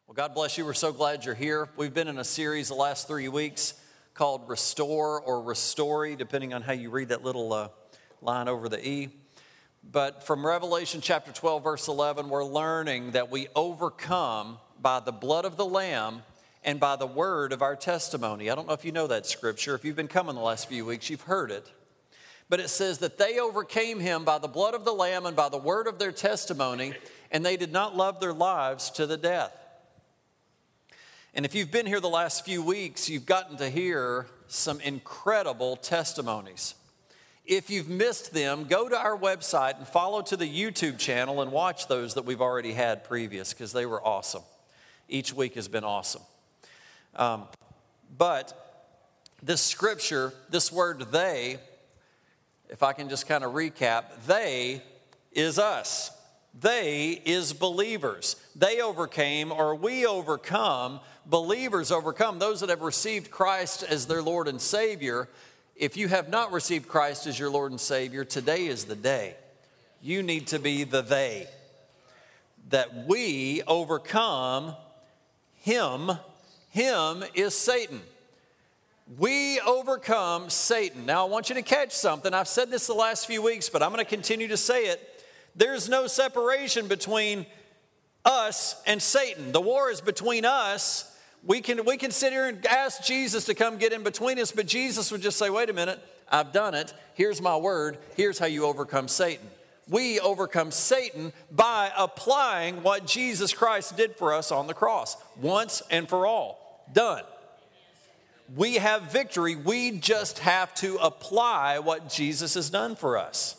Well, God bless you. We're so glad you're here. We've been in a series the last 3 weeks called Restore or Restory, depending on how you read that little line over the E. But from Revelation chapter 12, verse 11, we're learning that we overcome by the blood of the Lamb and by the word of our testimony. I don't know if you know that scripture. If you've been coming the last few weeks, you've heard it. But it says that they overcame him by the blood of the Lamb and by the word of their testimony, and they did not love their lives to the death. And if you've been here the last few weeks, you've gotten to hear some incredible testimonies. If you've missed them, go to our website and follow to the YouTube channel and watch those that we've already had previous, because they were awesome. Each week has been awesome. But this scripture, this word they, if I can just kind of recap, they is us. They is believers. They overcame, or we overcome. Believers overcome, those that have received Christ as their Lord and Savior. If you have not received Christ as your Lord and Savior, today is the day. You need to be the they. That we overcome him. Him is Satan. We overcome Satan. Now I want you to catch something. I've said this the last few weeks, but I'm going to continue to say it. There's no separation between us and Satan. The war is between us. We can sit here and ask Jesus to come get in between us, but Jesus would just say, wait a minute, I've done it. Here's my word. Here's how you overcome Satan. We overcome Satan by applying what Jesus Christ did for us on the cross, once and for all. Done. We have victory. We just have to apply what Jesus has done for us.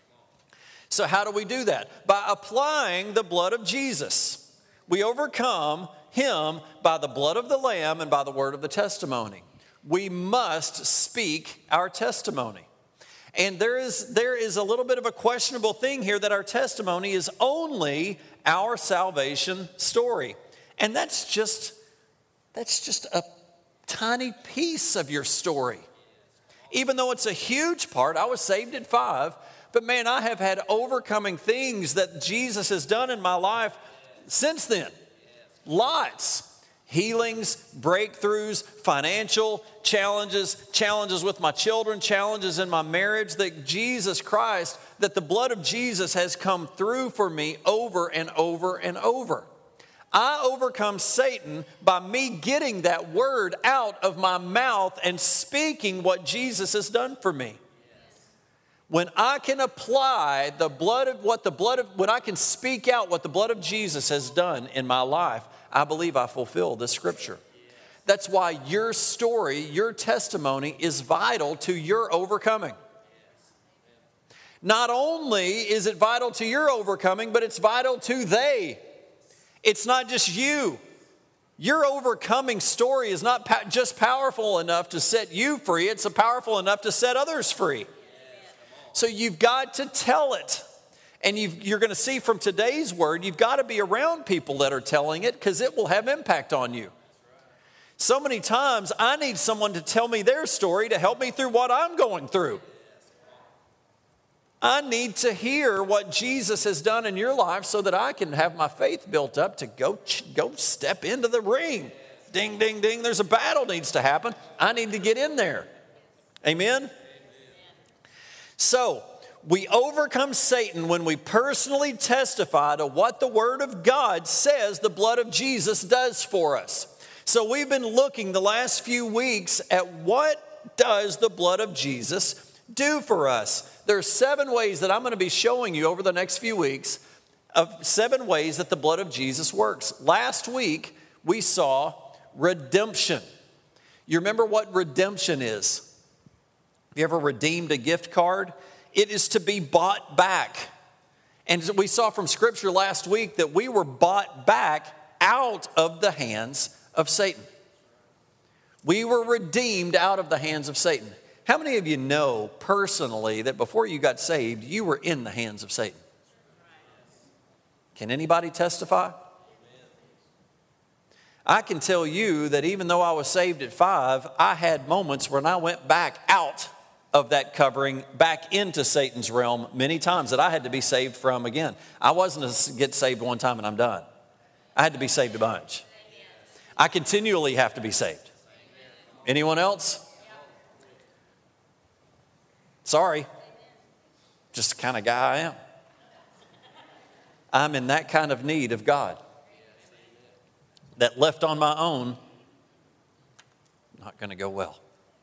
So how do we do that? By applying the blood of Jesus. We overcome him by the blood of the Lamb and by the word of the testimony. We must speak our testimony. And there is a little bit of a questionable thing here that our testimony is only our salvation story. And that's just a tiny piece of your story. Even though it's a huge part, I was saved at 5, but man, I have had overcoming things that Jesus has done in my life since then. Lots. Healings, breakthroughs, financial challenges with my children, challenges in my marriage, that Jesus Christ, that the blood of Jesus has come through for me over and over and over. I overcome Satan by me getting that word out of my mouth and speaking what Jesus has done for me. When I can apply when I can speak out what the blood of Jesus has done in my life, I believe I fulfill this scripture. That's why your story, your testimony is vital to your overcoming. Not only is it vital to your overcoming, but it's vital to they. It's not just you. Your overcoming story is not just powerful enough to set you free. It's powerful enough to set others free. So you've got to tell it. And you're going to see from today's word, you've got to be around people that are telling it, because it will have impact on you. So many times I need someone to tell me their story to help me through what I'm going through. I need to hear what Jesus has done in your life so that I can have my faith built up to go step into the ring. Ding, ding, ding. There's a battle needs to happen. I need to get in there. Amen? So, we overcome Satan when we personally testify to what the Word of God says the blood of Jesus does for us. So we've been looking the last few weeks at what does the blood of Jesus do for us. There are 7 ways that I'm going to be showing you over the next few weeks of 7 ways that the blood of Jesus works. Last week, we saw redemption. You remember what redemption is? Have you ever redeemed a gift card? It is to be bought back. And we saw from Scripture last week that we were bought back out of the hands of Satan. We were redeemed out of the hands of Satan. How many of you know personally that before you got saved, you were in the hands of Satan? Can anybody testify? I can tell you that even though I was saved at 5, I had moments when I went back out of that covering back into Satan's realm many times that I had to be saved from again. I wasn't to get saved one time and I'm done. I had to be saved a bunch. I continually have to be saved. Anyone else? Sorry. Just the kind of guy I am. I'm in that kind of need of God. That left on my own, not going to go well.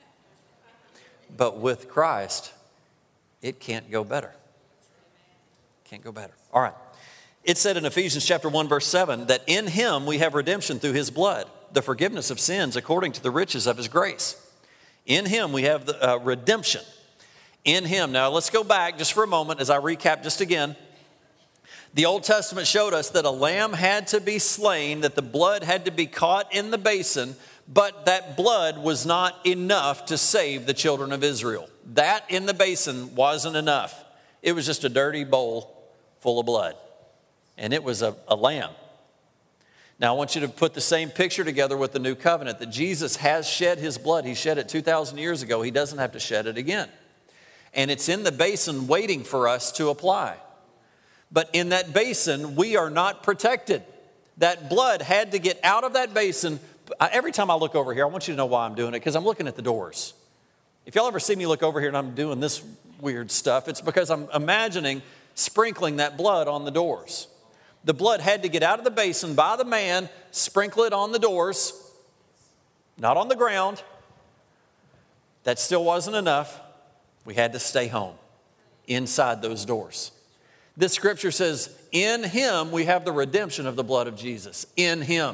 But with Christ, it can't go better. Can't go better. All right. It said in Ephesians chapter 1, verse 7, that in him we have redemption through his blood, the forgiveness of sins according to the riches of his grace. In him we have the redemption. In him. Now let's go back just for a moment as I recap just again. The Old Testament showed us that a lamb had to be slain, that the blood had to be caught in the basin, but that blood was not enough to save the children of Israel. That in the basin wasn't enough. It was just a dirty bowl full of blood. And it was a lamb. Now I want you to put the same picture together with the new covenant, that Jesus has shed his blood. He shed it 2,000 years ago. He doesn't have to shed it again. And it's in the basin waiting for us to apply. But in that basin, we are not protected. That blood had to get out of that basin. Every time I look over here, I want you to know why I'm doing it, because I'm looking at the doors. If y'all ever see me look over here and I'm doing this weird stuff, it's because I'm imagining sprinkling that blood on the doors. The blood had to get out of the basin by the man, sprinkle it on the doors, not on the ground. That still wasn't enough. We had to stay home inside those doors. This scripture says, in him we have the redemption of the blood of Jesus. In him.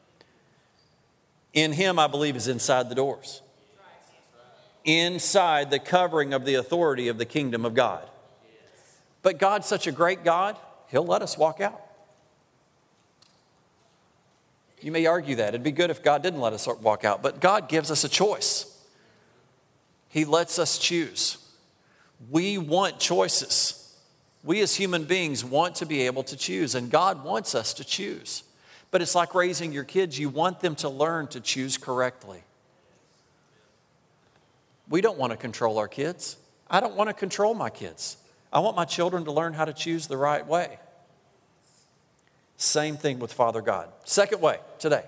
In him, I believe, is inside the doors. Inside the covering of the authority of the kingdom of God. But God's such a great God, he'll let us walk out. You may argue that. It'd be good if God didn't let us walk out. But God gives us a choice. He lets us choose. We want choices. We as human beings want to be able to choose, and God wants us to choose. But it's like raising your kids. You want them to learn to choose correctly. We don't want to control our kids. I don't want to control my kids. I want my children to learn how to choose the right way. Same thing with Father God. Second way today.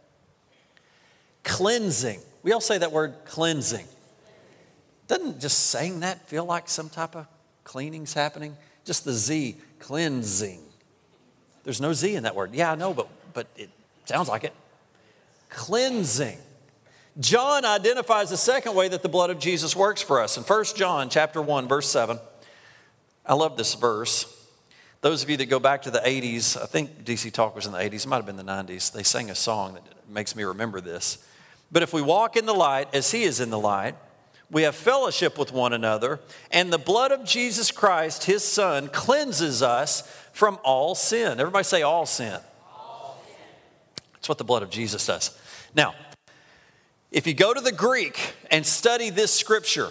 Cleansing. We all say that word, cleansing. Doesn't just saying that feel like some type of cleaning's happening? Just the Z, cleansing. There's no Z in that word. Yeah, I know, but it sounds like it. Cleansing. John identifies the second way that the blood of Jesus works for us. In 1 John chapter 1, verse 7, I love this verse. Those of you that go back to the 80s, I think DC Talk was in the 80s, it might have been the 90s. They sang a song that makes me remember this. But if we walk in the light as he is in the light, we have fellowship with one another, and the blood of Jesus Christ, his son, cleanses us from all sin. Everybody say all sin. All sin. That's what the blood of Jesus does. Now, if you go to the Greek and study this scripture,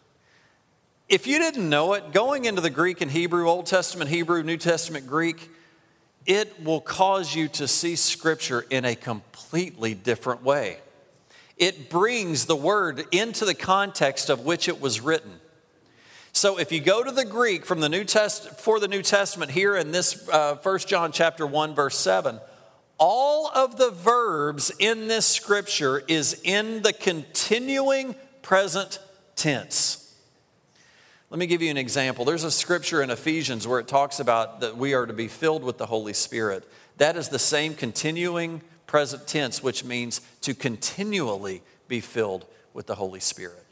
if you didn't know it, going into the Greek and Hebrew, Old Testament Hebrew, New Testament Greek, it will cause you to see scripture in a completely different way. It brings the word into the context of which it was written. So if you go to the Greek from the for the New Testament here in this 1 John chapter 1 verse 7, all of the verbs in this scripture is in the continuing present tense. Let me give you an example. There's a scripture in Ephesians where it talks about that we are to be filled with the Holy Spirit. That is the same continuing present tense, which means to continually be filled with the Holy Spirit.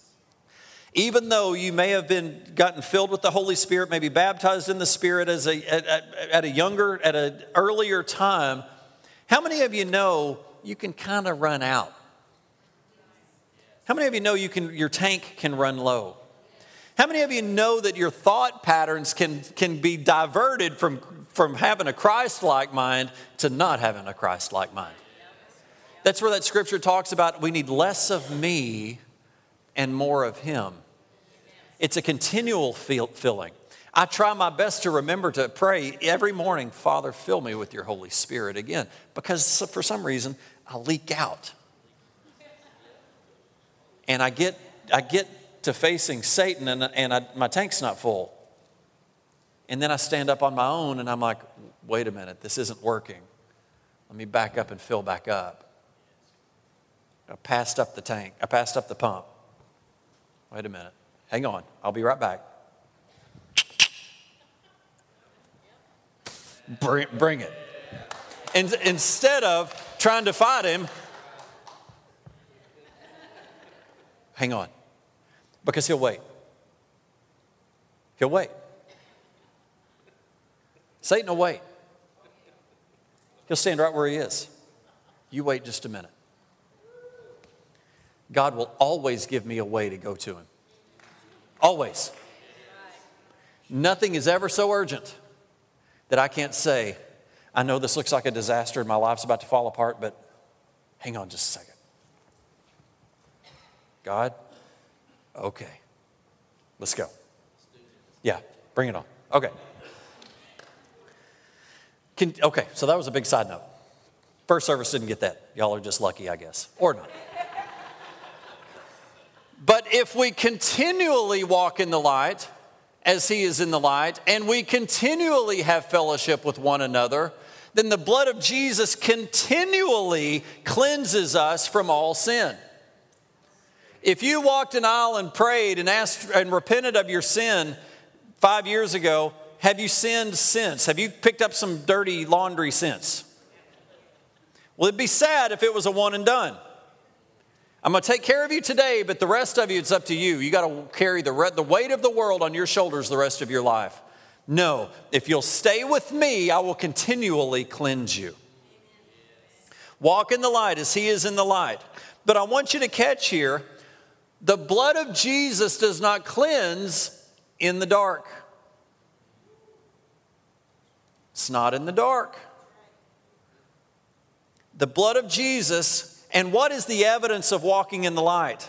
Even though you may have gotten filled with the Holy Spirit, maybe baptized in the Spirit at an earlier time, how many of you know you can kind of run out? How many of you know your tank can run low? How many of you know that your thought patterns can be diverted from having a Christ-like mind to not having a Christ-like mind? That's where that scripture talks about we need less of me and more of him. It's a continual filling. I try my best to remember to pray every morning, Father, fill me with your Holy Spirit again, because for some reason I leak out. And I get to facing Satan and my tank's not full. And then I stand up on my own and I'm like, wait a minute, this isn't working. Let me back up and fill back up. I passed up the tank. I passed up the pump. Wait a minute. Hang on. I'll be right back. Bring it. And instead of trying to fight him, hang on. Because he'll wait. He'll wait. Satan will wait. He'll stand right where he is. You wait just a minute. God will always give me a way to go to him. Always. Nothing is ever so urgent that I can't say, I know this looks like a disaster and my life's about to fall apart, but hang on just a second. God, okay, let's go. Yeah, bring it on. Okay. Okay, so that was a big side note. First service didn't get that. Y'all are just lucky, I guess, or not. But if we continually walk in the light, as he is in the light, and we continually have fellowship with one another, then the blood of Jesus continually cleanses us from all sin. If you walked an aisle and prayed and asked and repented of your sin 5 years ago, have you sinned since? Have you picked up some dirty laundry since? Well, it'd be sad if it was a one and done. I'm going to take care of you today, but the rest of you, it's up to you. You got to carry the weight of the world on your shoulders the rest of your life. No, if you'll stay with me, I will continually cleanse you. Walk in the light as he is in the light. But I want you to catch here, the blood of Jesus does not cleanse in the dark. It's not in the dark. The blood of Jesus. And what is the evidence of walking in the light?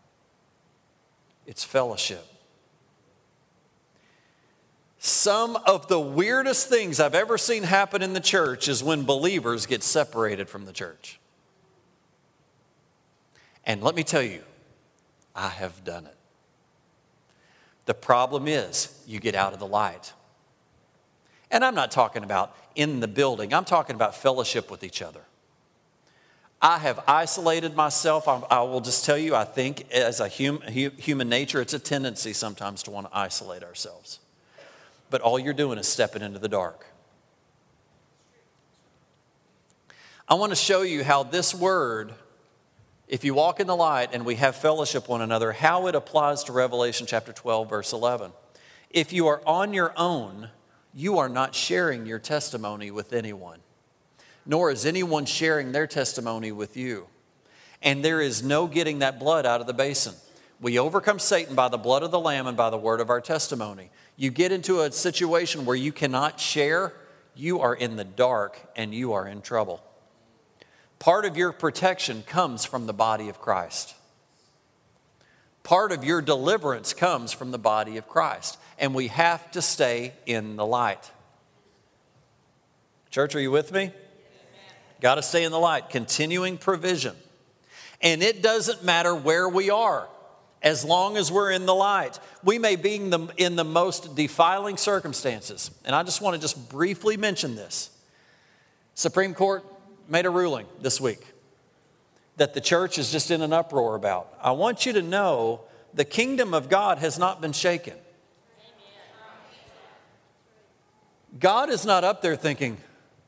It's fellowship. Some of the weirdest things I've ever seen happen in the church is when believers get separated from the church. And let me tell you, I have done it. The problem is you get out of the light. And I'm not talking about in the building. I'm talking about fellowship with each other. I have isolated myself. I will just tell you, I think as a human nature, it's a tendency sometimes to want to isolate ourselves. But all you're doing is stepping into the dark. I want to show you how this word, if you walk in the light and we have fellowship with one another, how it applies to Revelation chapter 12, verse 11. If you are on your own, you are not sharing your testimony with anyone, nor is anyone sharing their testimony with you. And there is no getting that blood out of the basin. We overcome Satan by the blood of the Lamb and by the word of our testimony. You get into a situation where you cannot share, you are in the dark and you are in trouble. Part of your protection comes from the body of Christ. Part of your deliverance comes from the body of Christ. And we have to stay in the light. Church, are you with me? Got to stay in the light. Continuing provision. And it doesn't matter where we are, as long as we're in the light. We may be in the most defiling circumstances. And I just want to just briefly mention this. Supreme Court made a ruling this week that the church is just in an uproar about. I want you to know the kingdom of God has not been shaken. God is not up there thinking,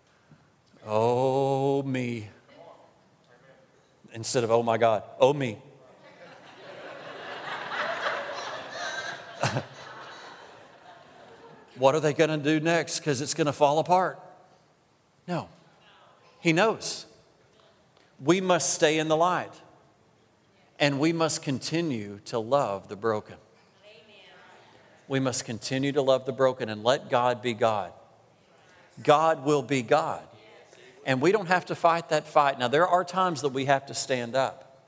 oh, me. Instead of, oh, my God, oh, me. What are they going to do next? Because it's going to fall apart. No. He knows. We must stay in the light. And we must continue to love the broken. We must continue to love the broken and let God be God. God will be God. And we don't have to fight that fight. Now, there are times that we have to stand up.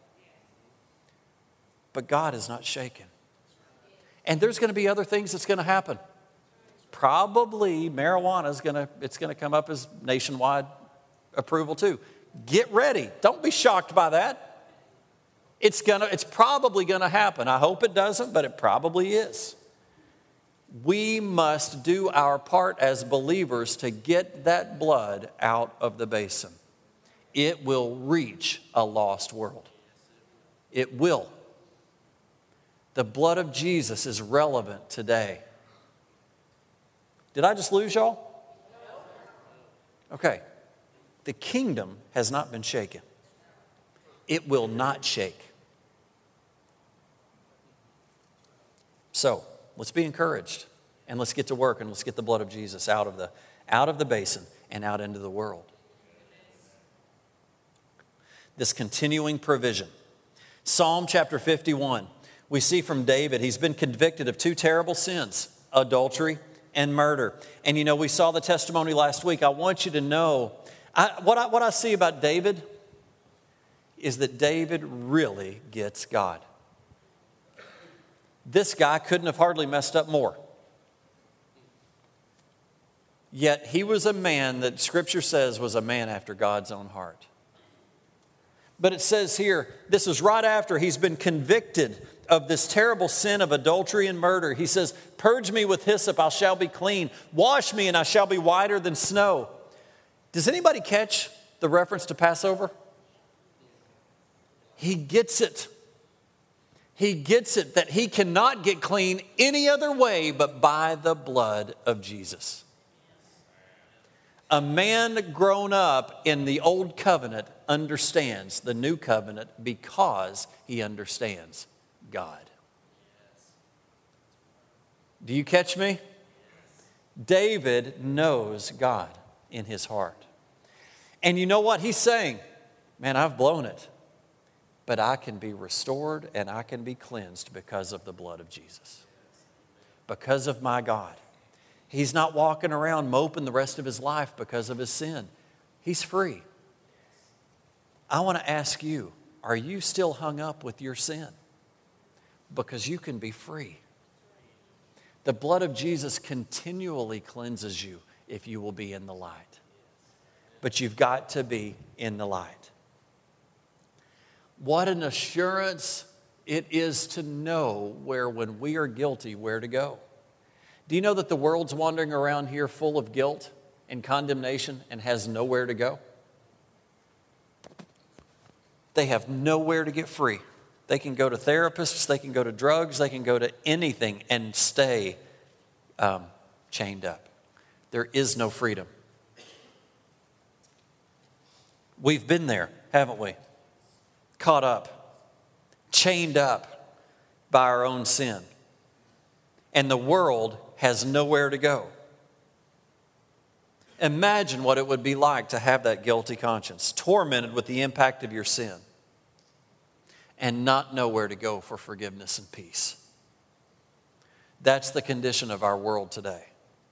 But God is not shaken. And there's going to be other things that's going to happen. Probably marijuana is going to come up as nationwide approval too. Get ready. Don't be shocked by that. It's probably going to happen. I hope it doesn't, but it probably is. We must do our part as believers to get that blood out of the basin. It will reach a lost world. It will. The blood of Jesus is relevant today. Did I just lose y'all? Okay. The kingdom has not been shaken. It will not shake. So, let's be encouraged and let's get to work and let's get the blood of Jesus out of the basin and out into the world. This continuing provision. Psalm chapter 51, we see from David, he's been convicted of two terrible sins, adultery and murder. And you know, we saw the testimony last week. I want you to know, what I see about David is that David really gets God. This guy couldn't have hardly messed up more. Yet he was a man that Scripture says was a man after God's own heart. But it says here, this is right after he's been convicted of this terrible sin of adultery and murder. He says, "Purge me with hyssop, I shall be clean. Wash me, and I shall be whiter than snow." Does anybody catch the reference to Passover? He gets it. He gets it that he cannot get clean any other way but by the blood of Jesus. A man grown up in the old covenant understands the new covenant because he understands God. Do you catch me? David knows God in his heart. And you know what he's saying? Man, I've blown it. But I can be restored and I can be cleansed because of the blood of Jesus. Because of my God. He's not walking around moping the rest of his life because of his sin. He's free. I want to ask you, are you still hung up with your sin? Because you can be free. The blood of Jesus continually cleanses you if you will be in the light. But you've got to be in the light. What an assurance it is to know when we are guilty, where to go. Do you know that the world's wandering around here full of guilt and condemnation and has nowhere to go? They have nowhere to get free. They can go to therapists, they can go to drugs, they can go to anything and stay chained up. There is no freedom. We've been there, haven't we? Caught up, chained up by our own sin. And the world has nowhere to go. Imagine what it would be like to have that guilty conscience, tormented with the impact of your sin, and not know where to go for forgiveness and peace. That's the condition of our world today.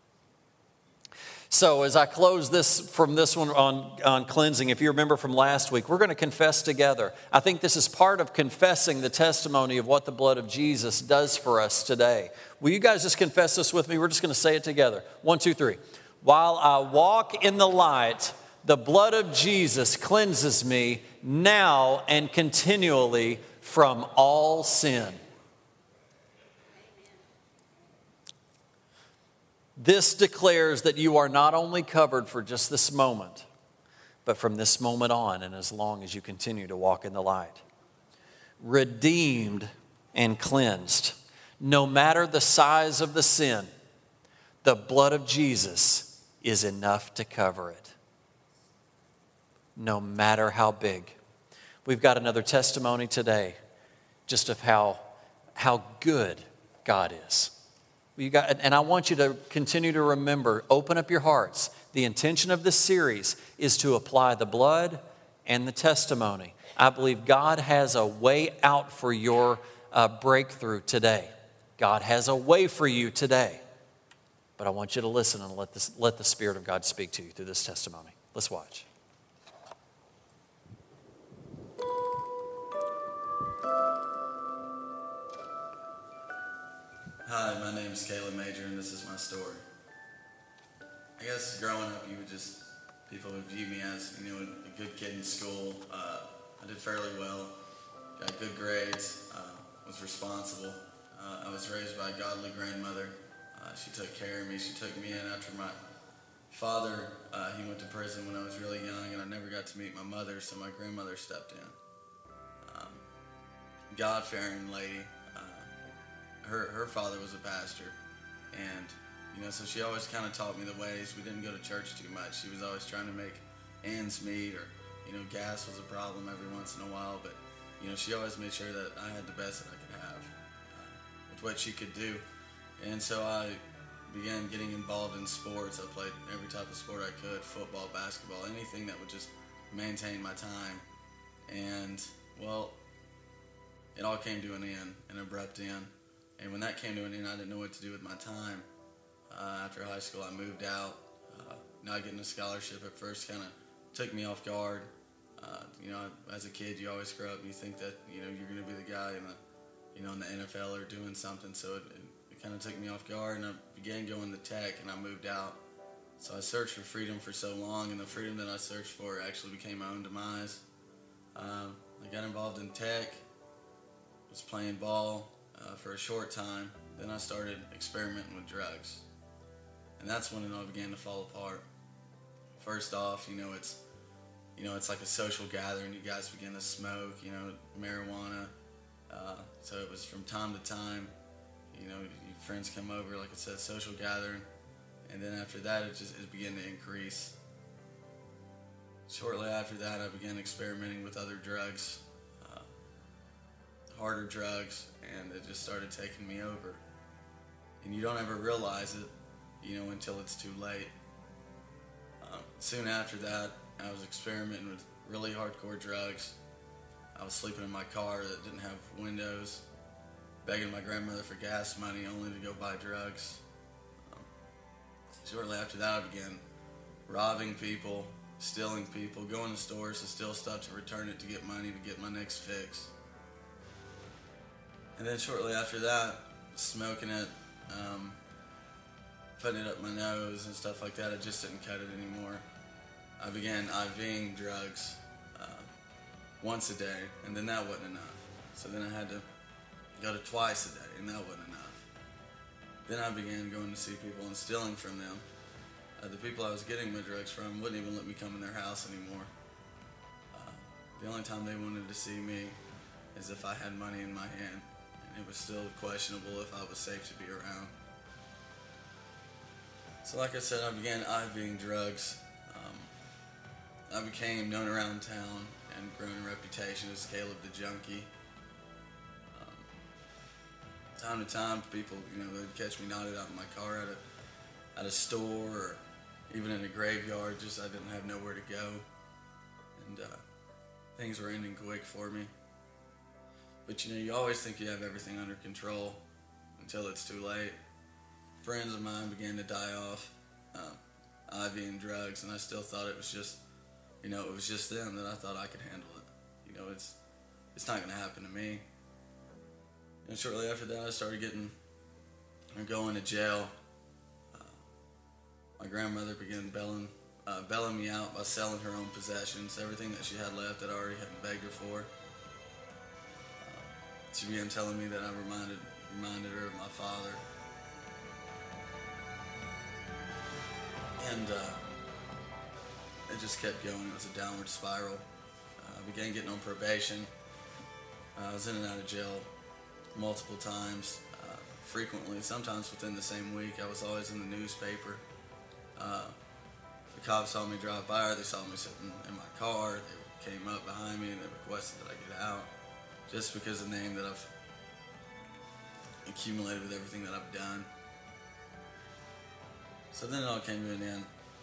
So as I close this one on cleansing, if you remember from last week, we're going to confess together. I think this is part of confessing the testimony of what the blood of Jesus does for us today. Will you guys just confess this with me? We're just going to say it together. 1, 2, 3. While I walk in the light, the blood of Jesus cleanses me now and continually from all sin. This declares that you are not only covered for just this moment, but from this moment on and as long as you continue to walk in the light. Redeemed and cleansed. No matter the size of the sin, the blood of Jesus is enough to cover it. No matter how big. We've got another testimony today just of how good God is. And I want you to continue to remember, open up your hearts. The intention of this series is to apply the blood and the testimony. I believe God has a way out for your breakthrough today. God has a way for you today. But I want you to listen and let the Spirit of God speak to you through this testimony. Let's watch. Hi, my name is Caleb Major, and this is my story. I guess growing up, people would view me as, a good kid in school. I did fairly well, got good grades, was responsible. I was raised by a godly grandmother. She took care of me. She took me in after my father. He went to prison when I was really young, and I never got to meet my mother, so my grandmother stepped in. God-fearing lady. Her father was a pastor, and so she always kind of taught me the ways. We didn't go to church too much. She was always trying to make ends meet, or gas was a problem every once in a while. But she always made sure that I had the best that I could have with what she could do. And so I began getting involved in sports. I played every type of sport I could: football, basketball, anything that would just maintain my time. And well, it all came to an end, an abrupt end. And when that came to an end, I didn't know what to do with my time. After high school, I moved out. Not getting a scholarship at first kind of took me off guard. As a kid, you always grow up and you think that you're going to be the guy in the NFL or doing something. So it kind of took me off guard, and I began going to tech, and I moved out. So I searched for freedom for so long, and the freedom that I searched for actually became my own demise. I got involved in tech, was playing ball for a short time. Then I started experimenting with drugs, and that's when it all began to fall apart. First off, it's like a social gathering. You guys begin to smoke, marijuana. So it was from time to time. Your friends come over, like I said, social gathering, and then after that, it began to increase. Shortly after that, I began experimenting with other drugs, harder drugs, and it just started taking me over. And you don't ever realize it, until it's too late. Soon after that, I was experimenting with really hardcore drugs. I was sleeping in my car that didn't have windows, begging my grandmother for gas money only to go buy drugs. Shortly after that, I began robbing people, stealing people, going to stores to steal stuff to return it to get money to get my next fix. And then shortly after that, smoking it, putting it up my nose and stuff like that. I just didn't cut it anymore. I began IVing drugs once a day, and then that wasn't enough. So then I had to go to twice a day, and that wasn't enough. Then I began going to see people and stealing from them. The people I was getting my drugs from wouldn't even let me come in their house anymore. The only time they wanted to see me is if I had money in my hand, and it was still questionable if I was safe to be around. So like I said, I began IVing drugs. I became known around town and grown a reputation as Caleb the Junkie. Time to time, people, they'd catch me knotted out in my car at a store, or even in a graveyard. Just I didn't have nowhere to go, and things were ending quick for me. But you always think you have everything under control until it's too late. Friends of mine began to die off, IVing drugs, and I still thought it was just, it was just them, that I thought I could handle it. It's not going to happen to me. And shortly after that, I started going to jail. My grandmother began bailing me out by selling her own possessions. Everything that she had left that I already had begged her for. She began telling me that I reminded her of my father. And it just kept going. It was a downward spiral. I began getting on probation. I was in and out of jail multiple times, frequently, sometimes within the same week. I was always in the newspaper. The cops saw me drive by, or they saw me sitting in my car. They came up behind me and they requested that I get out, just because of the name that I've accumulated with everything that I've done. So then it all came to an end.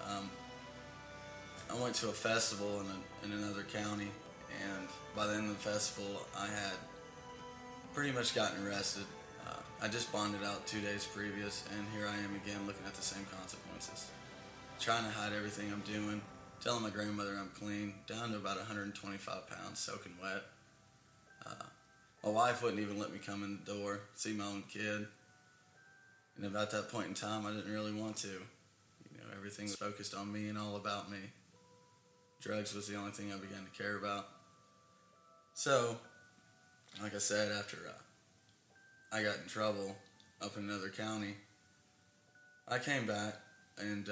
I went to a festival in another county, and by the end of the festival, I had pretty much gotten arrested. I just bonded out 2 days previous, and here I am again looking at the same consequences. Trying to hide everything I'm doing, telling my grandmother I'm clean, down to about 125 pounds, soaking wet. My wife wouldn't even let me come in the door, see my own kid. And about that point in time, I didn't really want to. Everything was focused on me and all about me. Drugs was the only thing I began to care about. So, like I said, after I got in trouble up in another county, I came back, and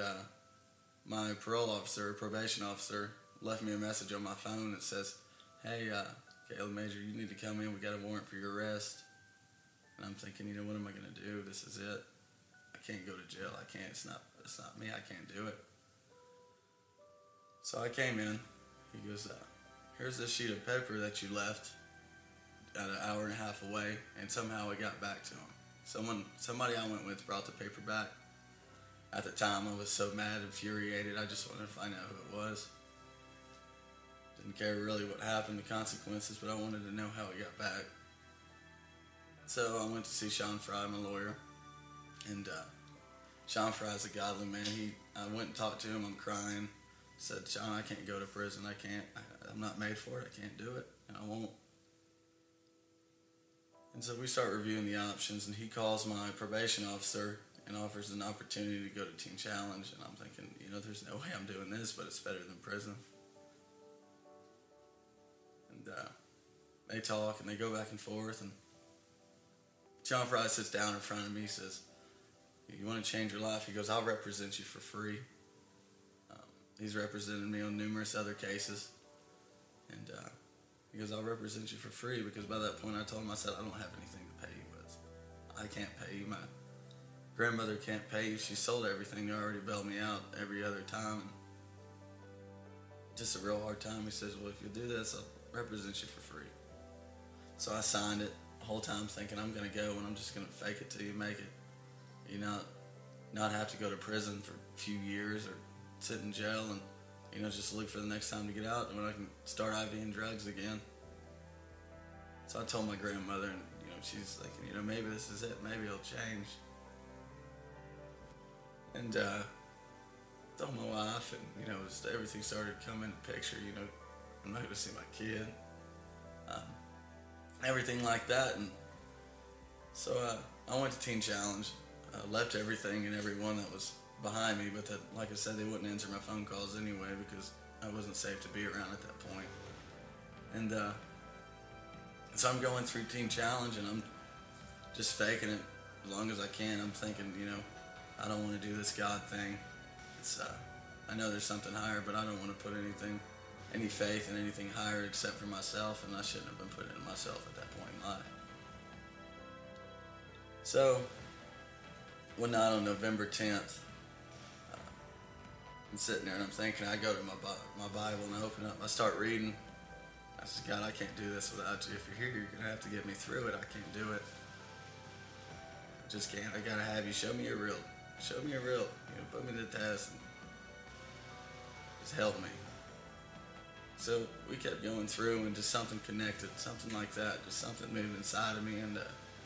my probation officer, left me a message on my phone that says, "Hey, Caleb Major, you need to come in. We got a warrant for your arrest. And I'm thinking, what am I going to do? This is it. I can't go to jail. I can't. It's not me. I can't do it. So I came in. He goes, here's this sheet of paper that you left at an hour and a half away, and somehow it got back to him. Somebody I went with brought the paper back. At the time, I was so mad, infuriated. I just wanted to find out who it was. Didn't care really what happened, the consequences, but I wanted to know how it got back. So I went to see Sean Fry, my lawyer, and Sean Fry's a godly man. I went and talked to him. I'm crying. Said, Sean, I can't go to prison. I can't. I'm not made for it. I can't do it, and I won't. And so we start reviewing the options, and he calls my probation officer and offers an opportunity to go to Teen Challenge. And I'm thinking, there's no way I'm doing this, but it's better than prison. And they talk, and they go back and forth, and Sean Fry sits down in front of me. He says, you want to change your life? He goes, I'll represent you for free. He's represented me on numerous other cases. And he goes, I'll represent you for free, because by that point I told him, I said, I don't have anything to pay you with. I can't pay you. My grandmother can't pay you. She sold everything. They already bailed me out every other time. And just a real hard time. He says, well, if you do this, I'll represent you for free. So I signed it the whole time thinking I'm going to go and I'm just going to fake it till you make it. Not have to go to prison for a few years or sit in jail and, just look for the next time to get out and when I can start IVing drugs again. So I told my grandmother, and, she's thinking, maybe this is it. Maybe it'll change. And told my wife, and, just everything started coming into picture. I'm not going to see my kid. Everything like that. And so I went to Teen Challenge. Left everything and everyone that was behind me, but like I said, they wouldn't answer my phone calls anyway because I wasn't safe to be around at that point. And so I'm going through Teen Challenge and I'm just faking it as long as I can. I'm thinking, I don't want to do this God thing. It's I know there's something higher, but I don't want to put any faith in anything higher except for myself, and I shouldn't have been putting it in myself at that point in life. So one night on November 10th, I'm sitting there and I'm thinking, I go to my Bible and I open up, I start reading. I said, God, I can't do this without you. If you're here, you're going to have to get me through it. I can't do it. I just can't. I got to have you. Show me you're real. Show me you're real. Put me to the test and just help me. So we kept going through and just something connected, something like that, just something moved inside of me. And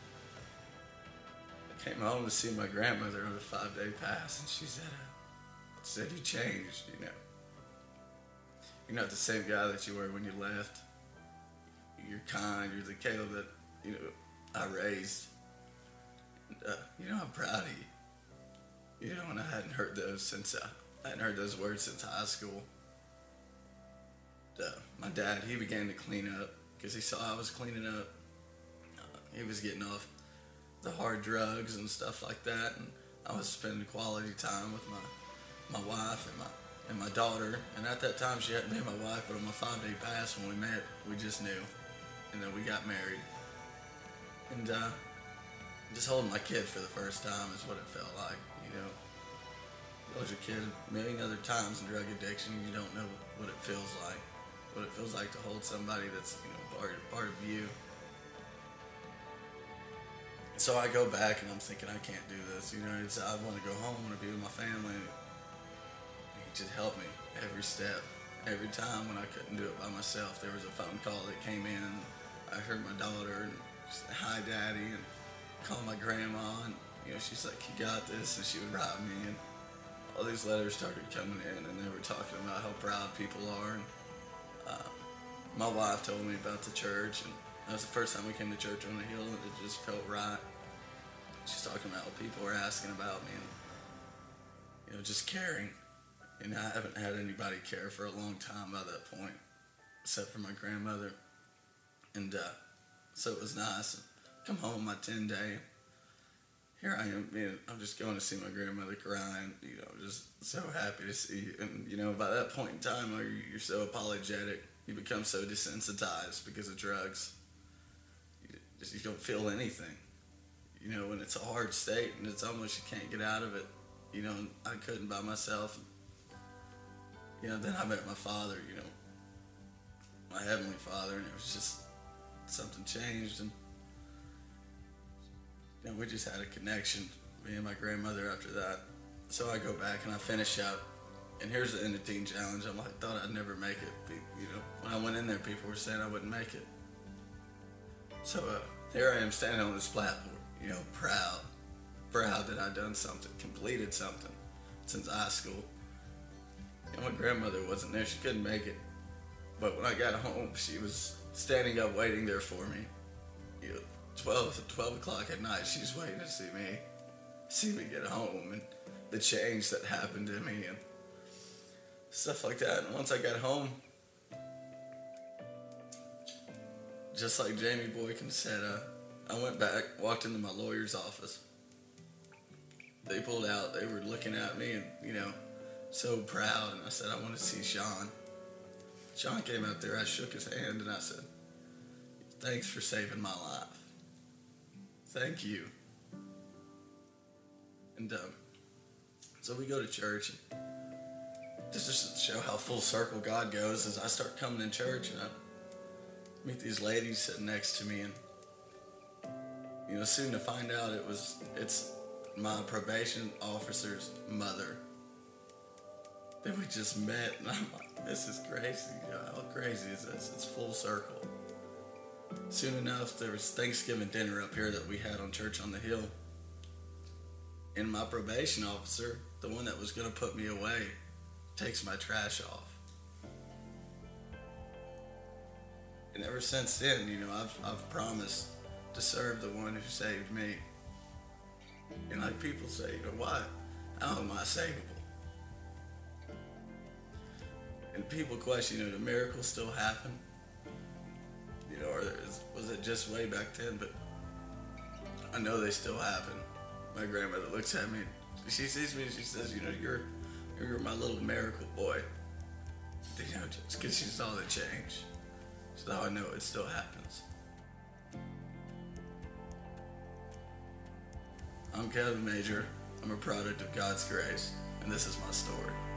I came home to see my grandmother on a 5-day pass, and she said, you changed, You're not the same guy that you were when you left. You're kind. You're the Caleb that, I raised. And, I'm proud of you. And I hadn't heard those words since high school. My dad, he began to clean up because he saw I was cleaning up. He was getting off the hard drugs and stuff like that, and I was spending quality time with my wife and my daughter. And at that time, she hadn't been my wife, but on my 5-day pass when we met, we just knew, and then we got married. And just holding my kid for the first time is what it felt like. You lose your kid a million other times in drug addiction, you don't know what it feels like. What it feels like to hold somebody that's part of you. So I go back and I'm thinking, I can't do this. I want to go home. I want to be with my family. He just helped me every step. Every time when I couldn't do it by myself, there was a phone call that came in. I heard my daughter and she said, hi, Daddy, and called my grandma. And, she's like, you got this. And she would write me. And all these letters started coming in, and they were talking about how proud people are. And my wife told me about the church, and that was the first time we came to church on the hill, and it just felt right. She's talking about what people were asking about me, and just caring. And I haven't had anybody care for a long time by that point, except for my grandmother. And so it was nice. Come home on my 10-day. Here I am, I'm just going to see my grandmother crying, just so happy to see you. And, by that point in time, you're so apologetic. you become so desensitized because of drugs. You don't feel anything. You know, when it's a hard state and it's almost you can't get out of it. You know, I couldn't by myself. You know, then I met my father, you know, my heavenly Father, and it was just something changed, and you know, we just had a connection, me and my grandmother after that. So I go back and I finish up, and here's the end of Teen Challenge. I'm like, thought I'd never make it. You know, when I went in there, people were saying I wouldn't make it. So here I am standing on this platform, you know, proud that I'd done something, completed something since high school. You know, my grandmother wasn't there, she couldn't make it. But when I got home, she was standing up waiting there for me. You know, 12 o'clock at night, she's waiting to see me get home, and the change that happened to me and stuff like that. And once I got home, just like Jamie Boykin said, I went back, walked into my lawyer's office. They pulled out, they were looking at me and, you know, so proud. And I said, I want to see Sean. Sean came out there, I shook his hand and I said, thanks for saving my life. Thank you. And so we go to church, and just to show how full circle God goes, as I start coming in church and I meet these ladies sitting next to me, and you know, soon to find out it's my probation officer's mother that we just met, and I'm like, this is crazy. You know, how crazy is this? It's full circle. Soon enough, there was Thanksgiving dinner up here that we had on Church on the Hill, and my probation officer, the one that was going to put me away, takes my trash off. And ever since then, you know, I've promised to serve the one who saved me. And like people say, you know, why? How am I savable? And people question, you know, do miracles still happen? You know, or was it just way back then? But I know they still happen. My grandmother looks at me, she sees me and she says, you know, you're my little miracle boy. You know, just because she saw the change. So I know it still happens. I'm Kevin Major. I'm a product of God's grace, and this is my story.